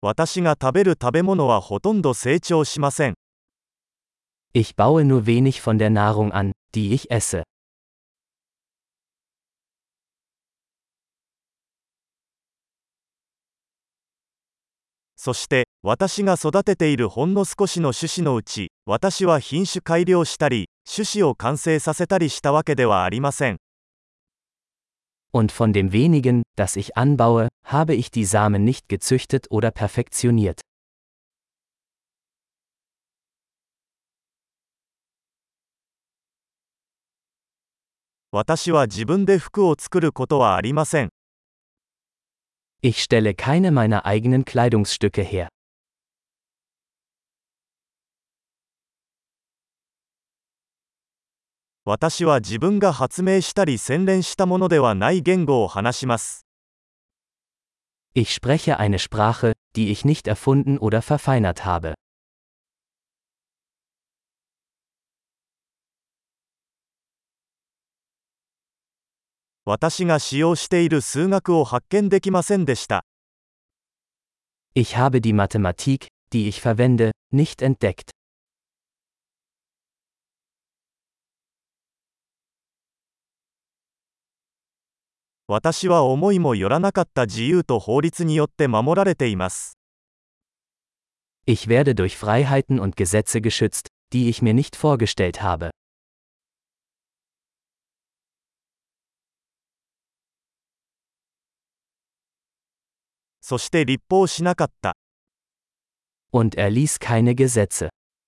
私が食べる食べ物はほとんど成長しません。 Ich baue nur wenig von der Nahrung an, die ich esse. そして、私が育てているほんの少しの種子のうち、私は品種改良したり、種子を完成させたりしたわけではありません。 Und von dem wenigen, das ich anbaue, habe ich die Samen nicht gezüchtet oder perfektioniert. 私は自分で服を作ることはありません。 Ich stelle keine meiner eigenen Kleidungsstücke her. 私は自分が発明したり洗練したものではない言語を話します。 Ich spreche eine Sprache, die ich nicht erfunden oder verfeinert habe. 私が使用している数学を発見できませんでした。 Ich habe die Mathematik, die ich verwende, nicht entdeckt. 私は思いもよらなかった自由と法律によって守られています。 Ich werde durch Freiheiten und Gesetze geschützt, die ich mir nicht vorgestellt habe. そして立法しなかった。 Und er ließ keine Gesetze.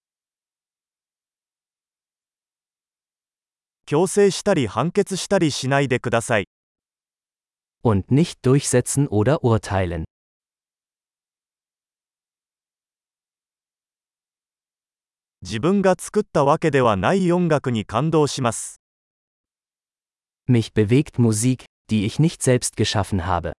強制したり判決したりしないでください。 Und nicht durchsetzen oder urteilen. 自分が作ったわけではない音楽に感動します。 Mich bewegt Musik, die ich nicht selbst geschaffen habe.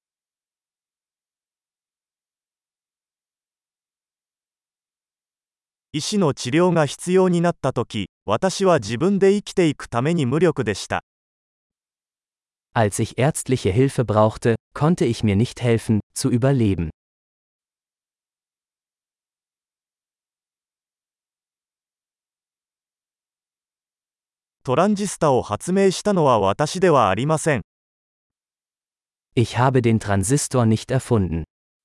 医師の治療が必要になったとき、私は自分で生きていくために無力でした。 Als ich ärztliche Hilfe brauchte, konnte ich mir nicht helfen, zu überleben. トランジスタを発明したのは私ではありません。 Ich habe den Transistor nicht erfunden.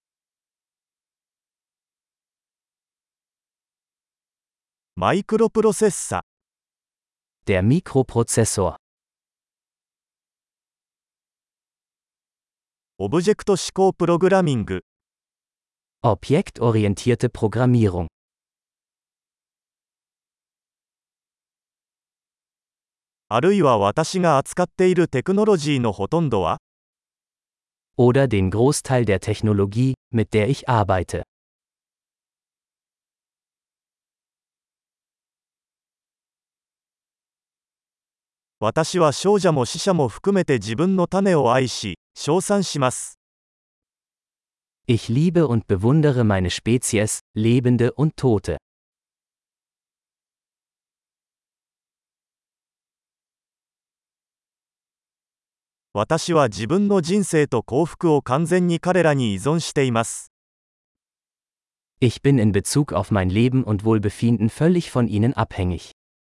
マイクロプロセッサ。 Der Mikroprozessor. オブジェクト指向プログラミング。 Objektorientierte Programmierung. あるいは私が扱っているテクノロジーのほとんどは Oder den Großteil der Technologie, mit der ich arbeite. 私は少女も死者も含めて自分の種を愛し、称賛します。 Ich liebe und bewundere meine Spezies, Lebende und Tote. 私は自分の人生と幸福を完全に彼らに依存しています。 Ich bin in Bezug auf mein Leben und Wohlbefinden völlig von ihnen abhängig.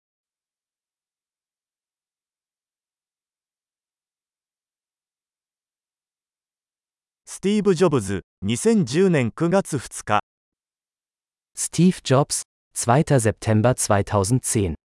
スティーブ・ジョブズ、2010年9月2日。 Steve Jobs, 2. September 2010